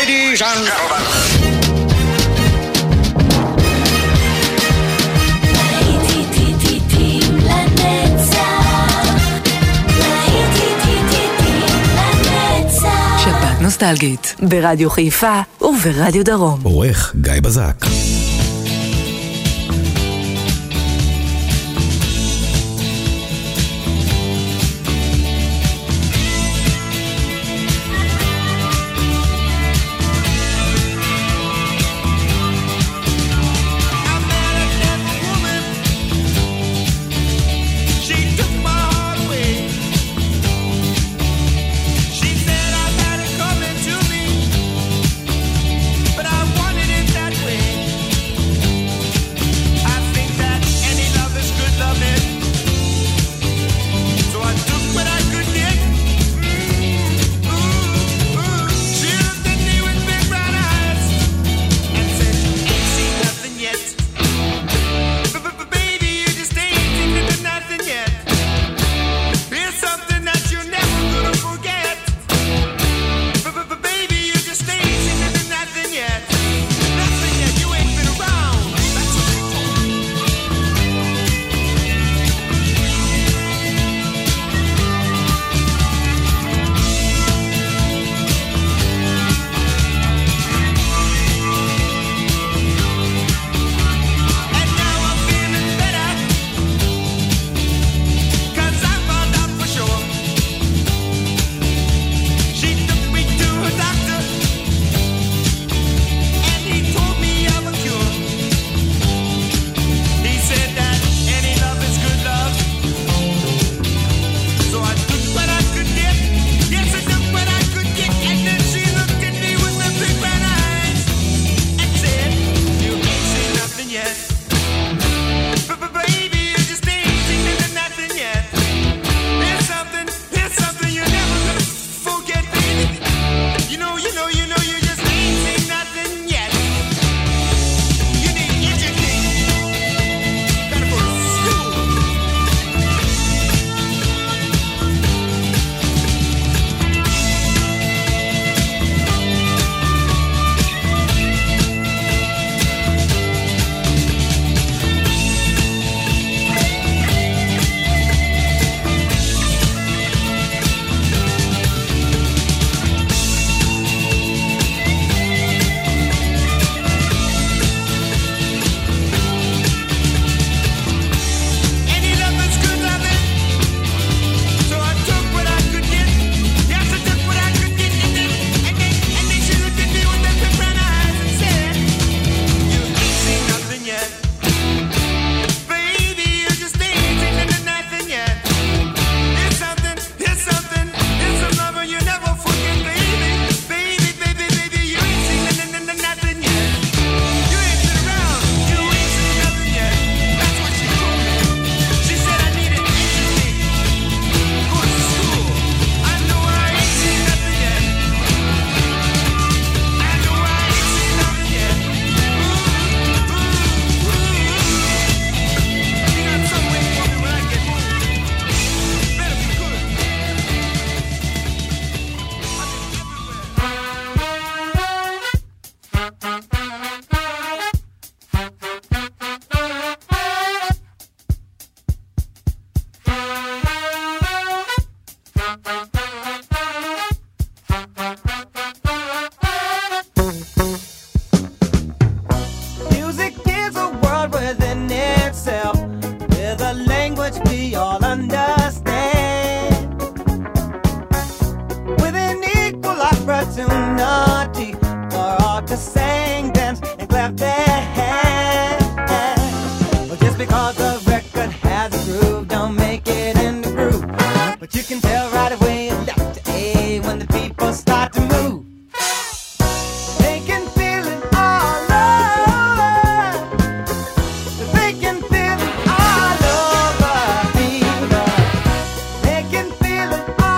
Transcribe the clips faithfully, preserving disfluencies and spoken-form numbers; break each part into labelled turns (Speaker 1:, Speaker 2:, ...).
Speaker 1: Ladies and gentlemen.
Speaker 2: שבת נוסטלגית ברדיו חיפה וברדיו דרום.
Speaker 3: עורך גיא בזק.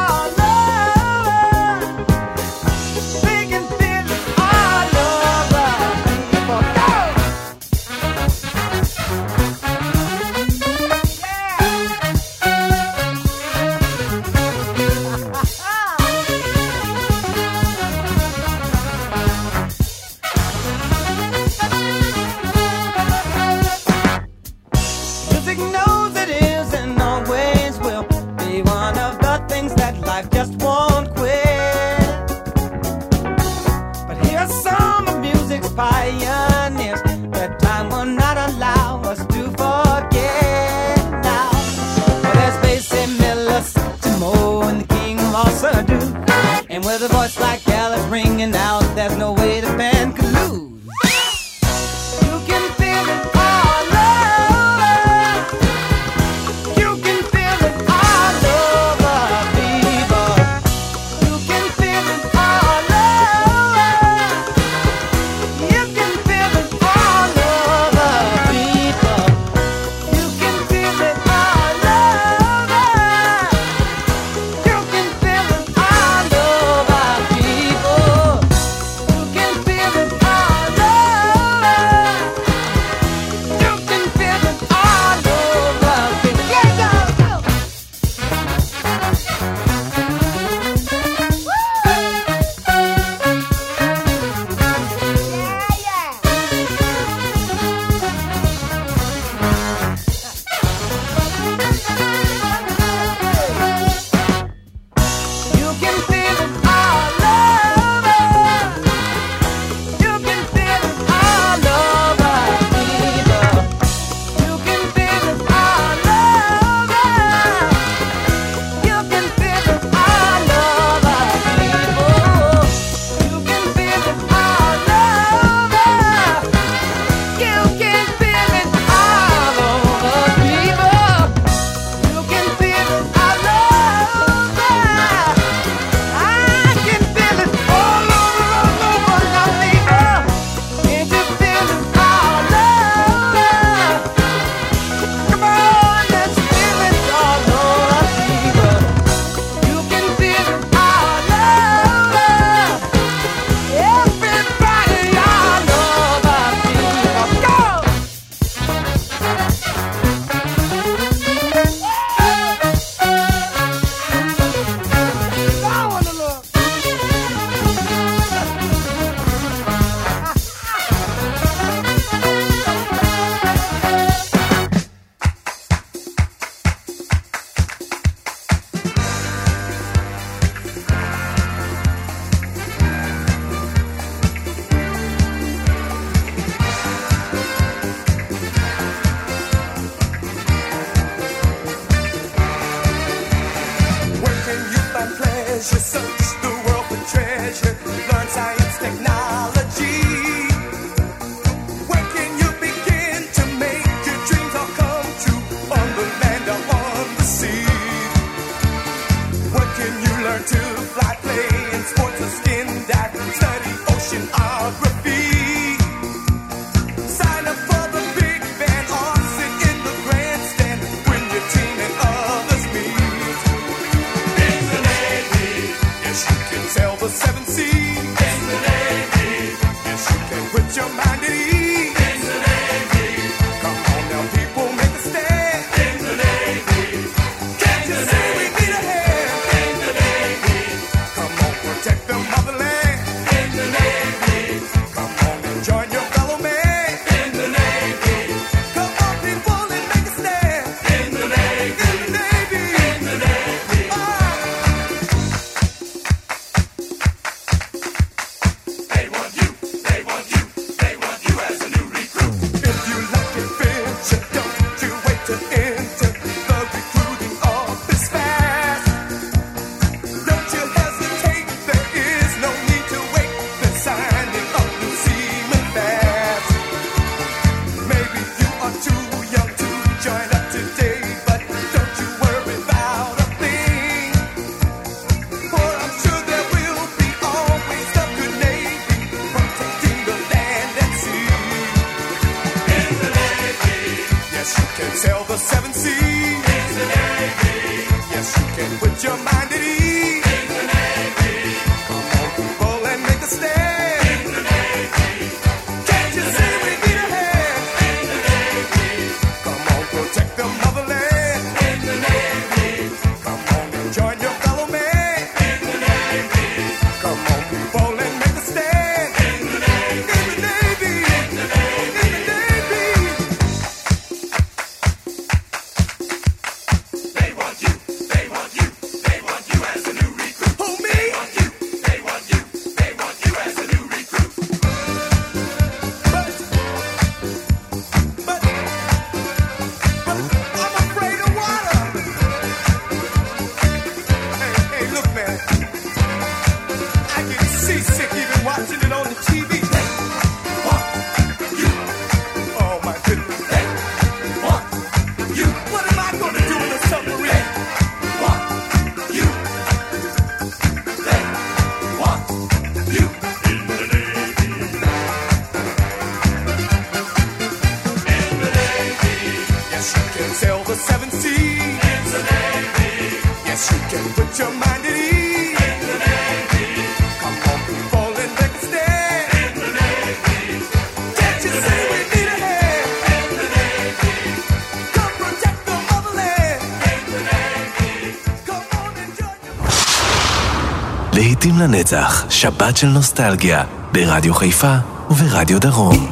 Speaker 4: All over.
Speaker 1: pioneers. That time will not allow us to forget now. Well, there's Basie Miller, Timo, and the king of all Sadu. And with a voice like Alice ringing out, there's no way the band could lose. You can feel it all over. You can feel it all over, people. You can feel it all over. You can feel it all over, people. You can feel it all over. You can feel it all over, people. You can feel it all over. You can feel it all over, people. Yeah, y'all, go. You can feel it all over. You can feel it all over, people. You can feel it all over. You can feel it all over, people. You can feel it all over. You can feel it all over, people. You can feel it all over. I can feel it all over, all over, now, people. Can't you feel it all over? Come on, let's feel it all over, people. You can feel it all over. Everybody all over, people. Go! Go on the Lord.
Speaker 3: Where can you find pleasure? Search the world for treasure. Learn science, technology. Where can you begin to make your dreams all come true? On the land or on the sea? Where can you learn to fly, play in sports or skin dive? Study oceanography. Sign up for the big band or sit in the grandstand when your team and others meet. In the Navy, yes, you can sail the seven seas. In the Navy, yes, you can put your mind at ease. In the Navy, come on now, people, make a stand. In the Navy, can't you see we need a hand? In the Navy, come on, protect the motherland. In the Navy, come on and join your fellow man. In the Navy, come on, people, and make a stand. In the Navy, in the Navy, in the Navy. Ah. They want you, they want you, they want
Speaker 4: להיטים לנצח, שבת של נוסטלגיה, ברדיו חיפה וברדיו דרום.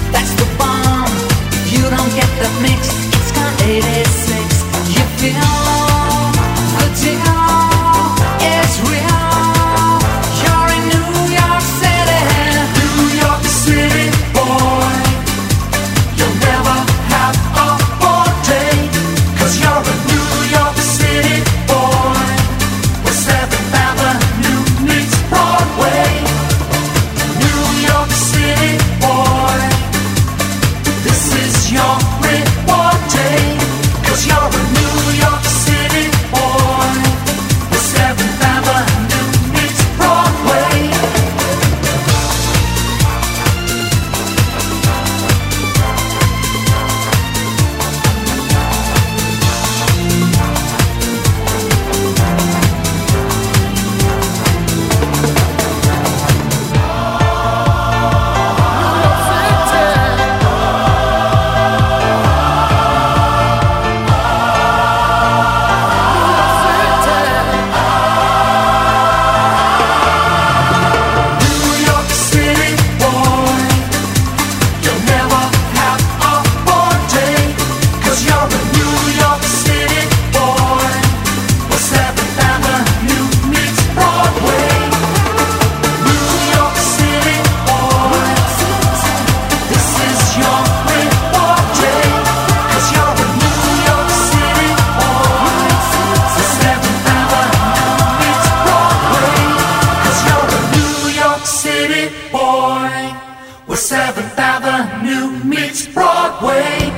Speaker 5: eighty-six, you feel
Speaker 3: seventh Avenue meets Broadway.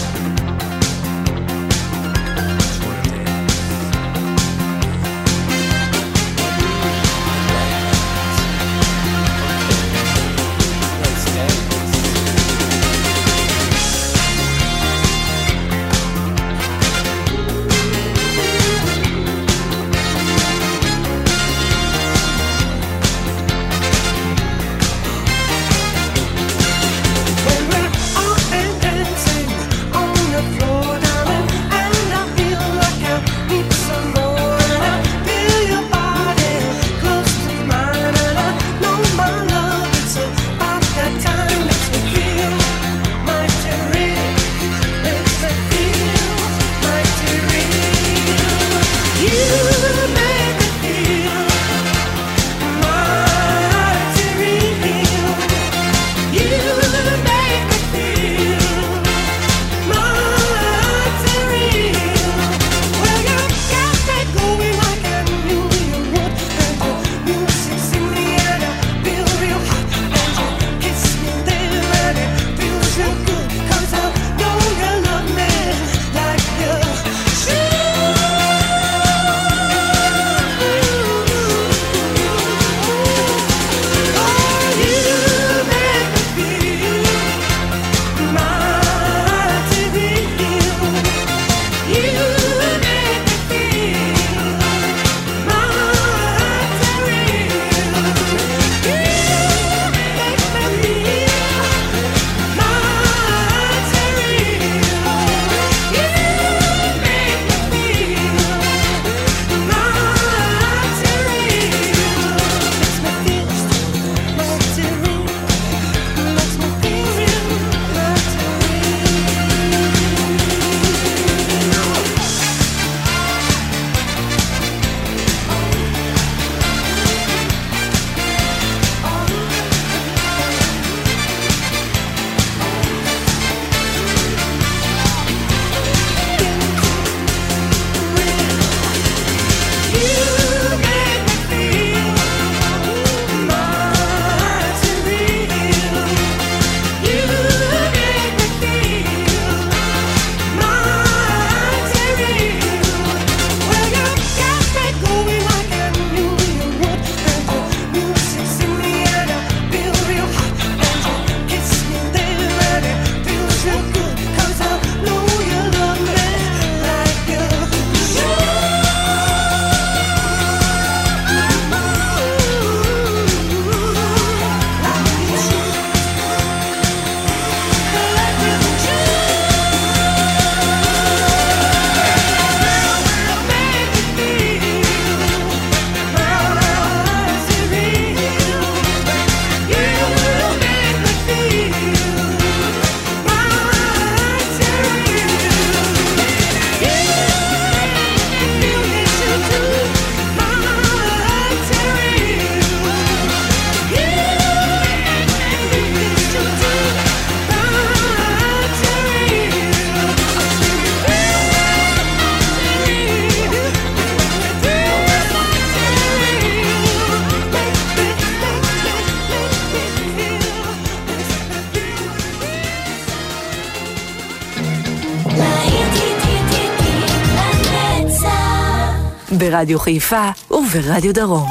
Speaker 2: ברדיו חיפה וברדיו דרום.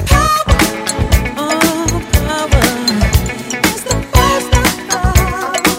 Speaker 5: Oh, power is the first of all.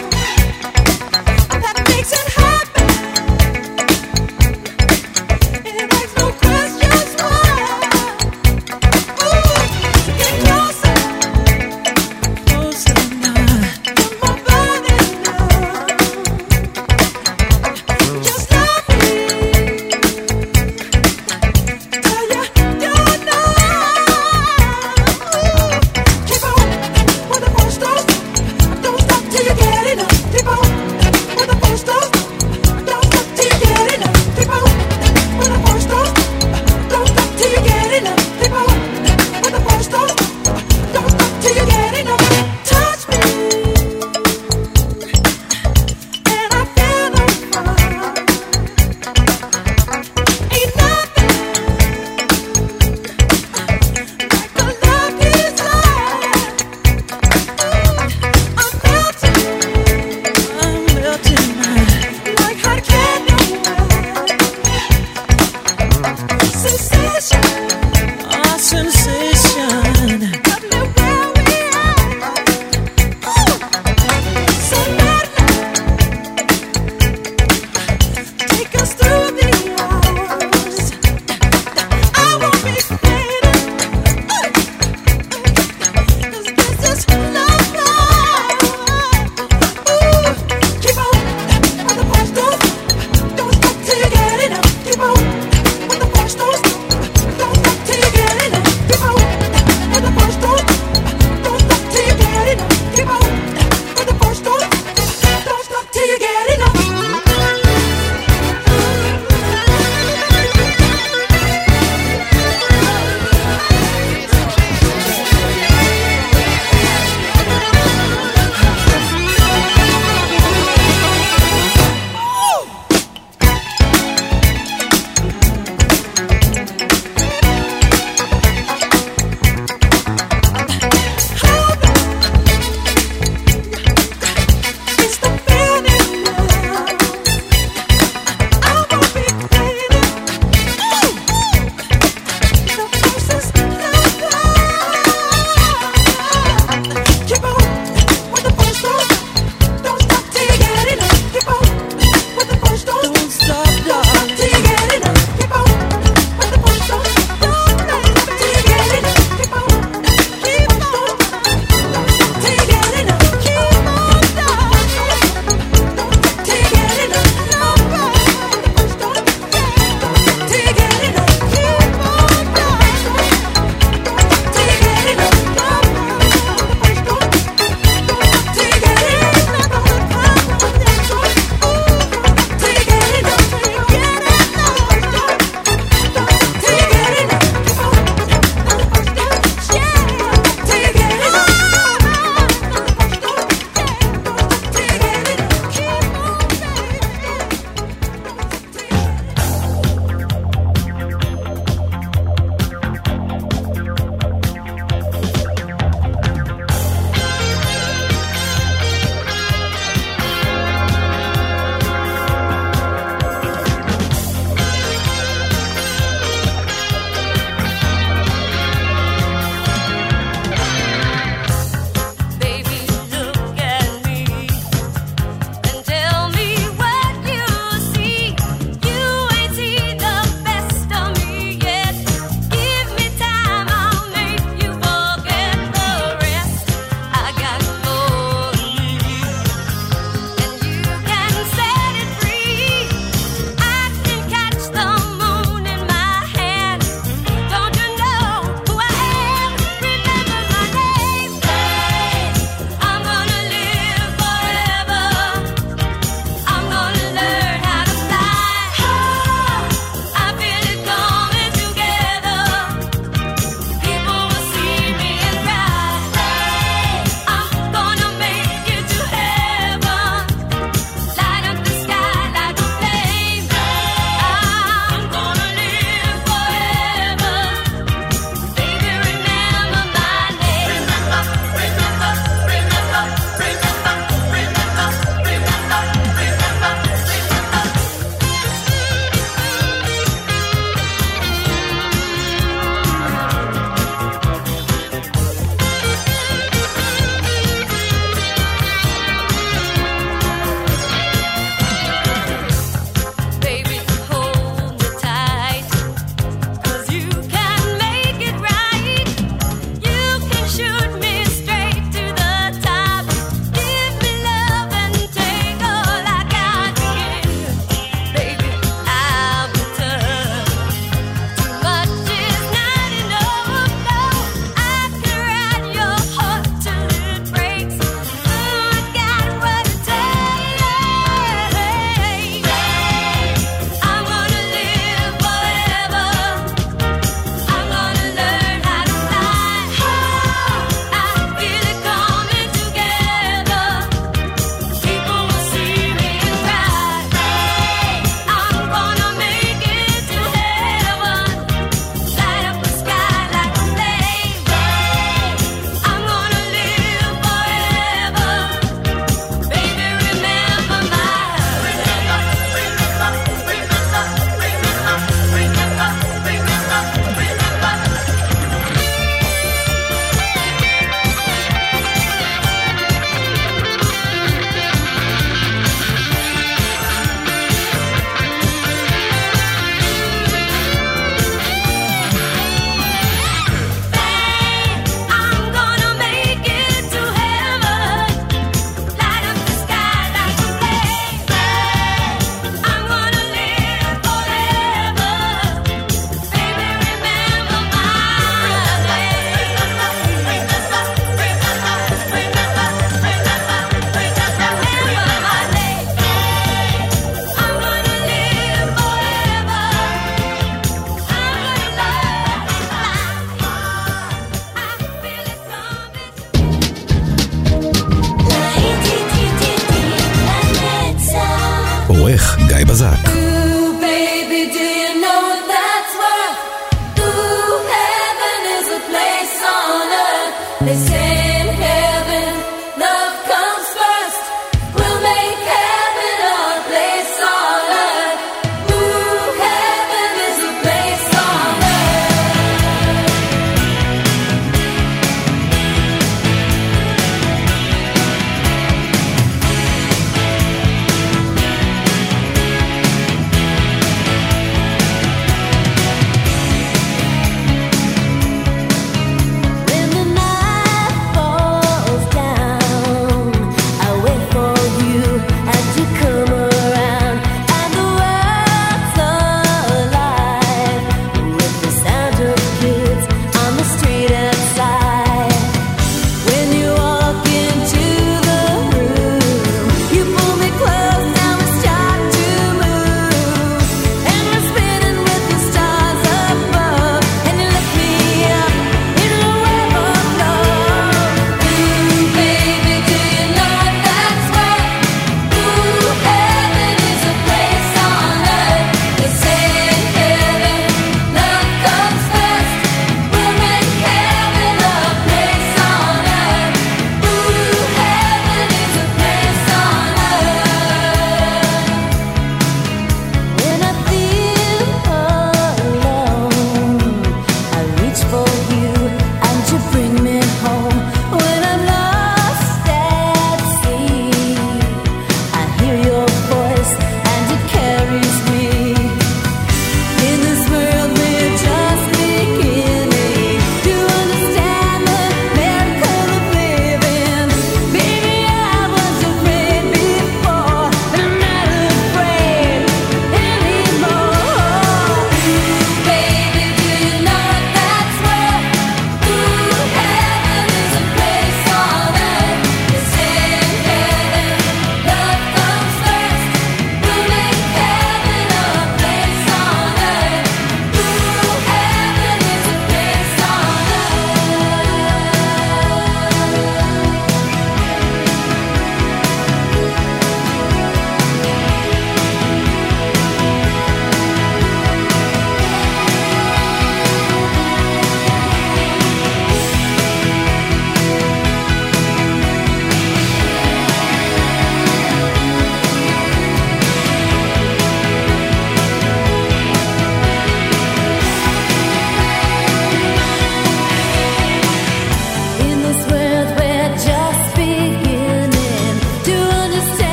Speaker 4: חזק.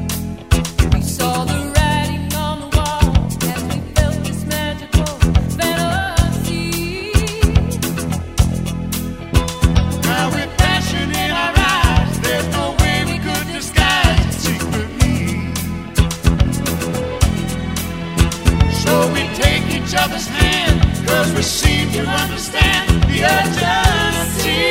Speaker 5: We saw the writing on the wall as we felt this magical
Speaker 3: brother's hand, 'cause we seem to understand the urgency.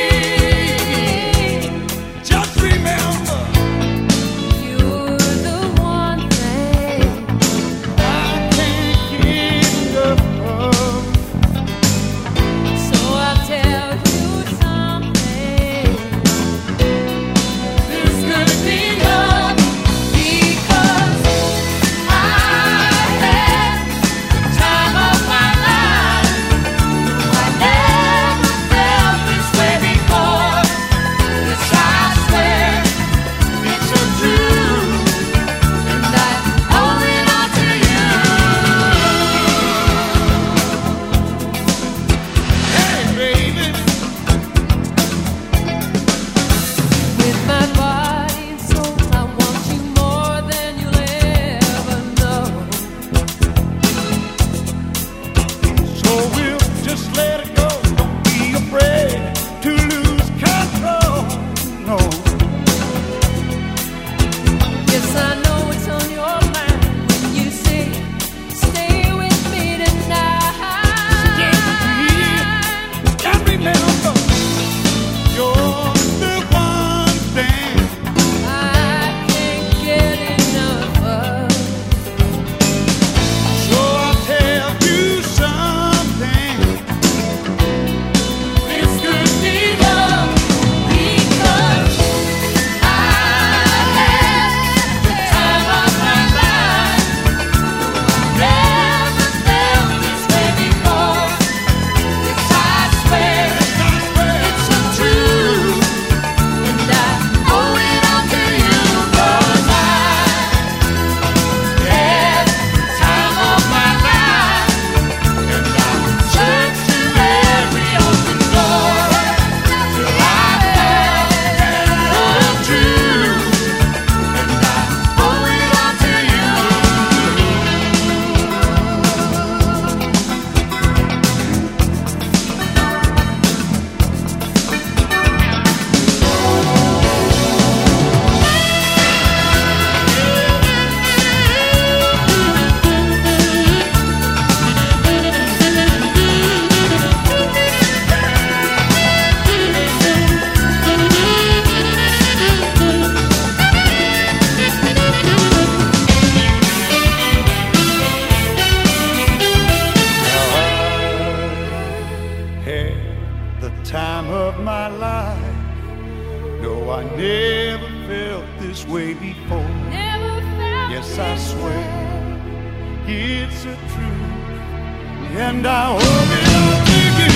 Speaker 3: Just remember,
Speaker 5: you're the one thing
Speaker 3: I can't get enough of.
Speaker 5: So I'll tell you something.
Speaker 3: This could be love,
Speaker 5: Because I had the time of my life. I never felt this way before. Yes, I swear
Speaker 3: it's so true.
Speaker 5: and I owe it all to you.
Speaker 3: Hey, baby,
Speaker 5: With my body and soul, I want you more than you'll ever know.
Speaker 3: so we'll just let it go. Don't be afraid to lose control. No.
Speaker 5: Yes, I know it's on your mind when you say, stay with me tonight.
Speaker 3: And remember, you're the one thing
Speaker 5: I can't get enough of.
Speaker 3: so I'll tell you something.
Speaker 5: This could be love because I had the time of my life. Never felt this way before. Yes, I swear it's so true, and I owe it all to you 'cause I had the time of my life, and I searched through every open door till I found love true, and I owe it all to you.
Speaker 3: Had the time of my life. No, I never felt this way before.
Speaker 5: Never felt
Speaker 3: Yes, I
Speaker 5: this
Speaker 3: swear.
Speaker 5: way.
Speaker 3: It's a truth, and I owe it all to you.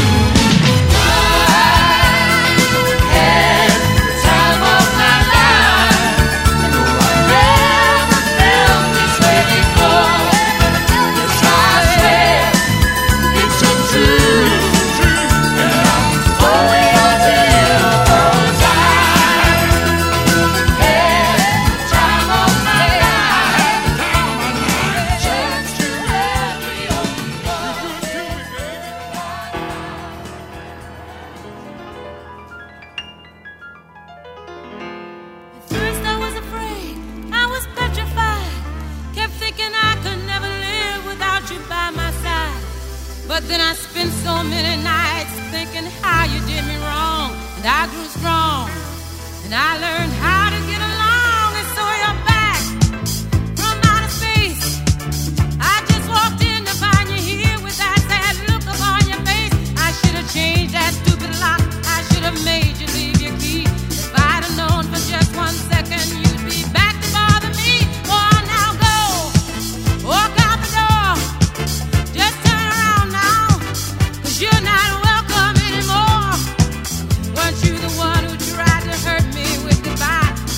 Speaker 5: Had the time of my life. No, I never felt this way before. Yes, I swear it's so true, and I owe it all to you 'cause I had the time of my life. Searched through every open door.
Speaker 6: At first I was afraid, I was petrified. Kept thinking I could never live without you by my side. But then I spent so many nights thinking how you did me wrong. And I grew strong, and I learned how to get along. And so you're back from outer space. I just walked in to find you here with that sad look upon your face. I should have changed that stupid lock. I should have made you leave your key. If I'd have known for just one second you'd be back to bother me. Oh, now go, walk out the door. Just turn around now, 'cause you're not welcome anymore. Weren't you the one who tried to hurt me with goodbye?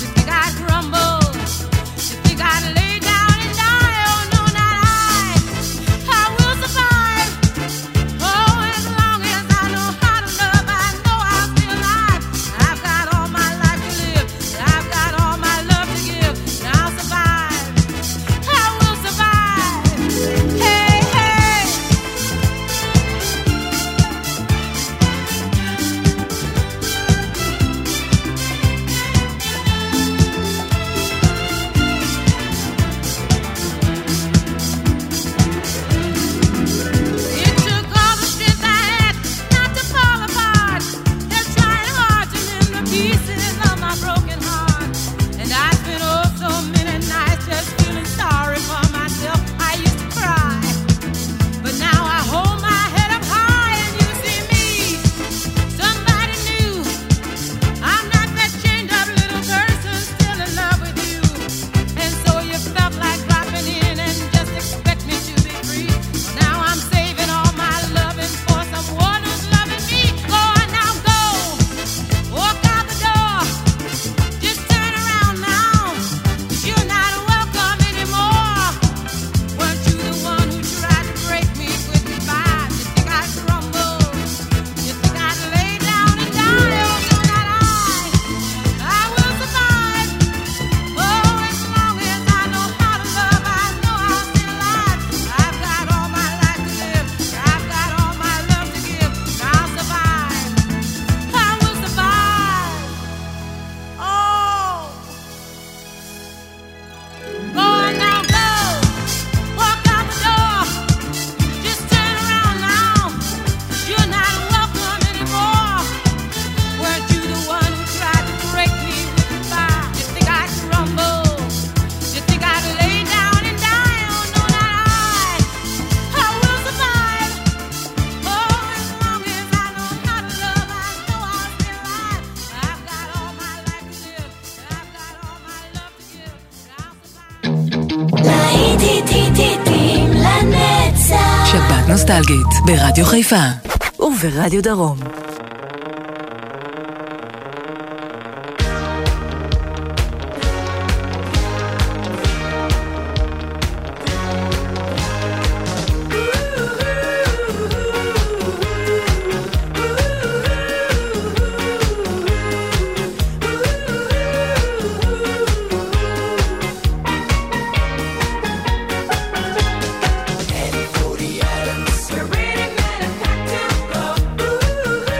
Speaker 2: נוסטלגית, ברדיו חיפה וברדיו דרום.
Speaker 3: You're ready, man, I got to go. Ooh.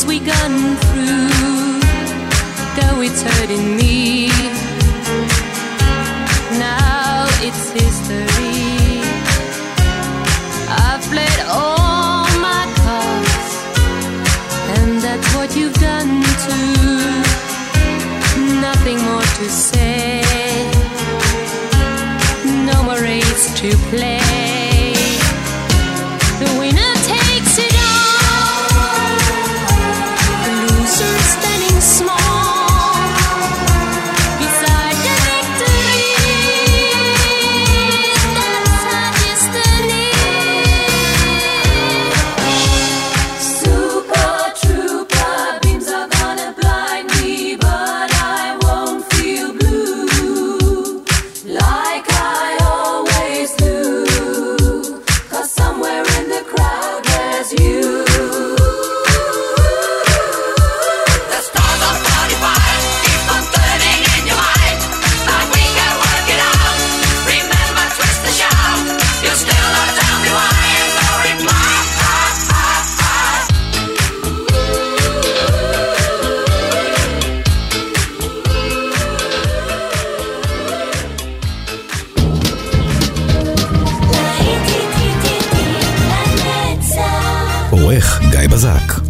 Speaker 6: we gone through, though it's hurting me, now it's history. I've played all my cards, and that's what you've done too. Nothing more to say, no more race to play. The winner takes it all, the loser standing small beside the victory. That's our destiny. Super trooper beams are gonna blind me, but I won't feel blue like I always do. 'Cause somewhere in the crowd there's you.
Speaker 5: The stars of forty-five keep on turning in your mind, but we can work it out. Remember, twist the shout. You still don't tell me why. No reply.
Speaker 4: עורך גיא בזק.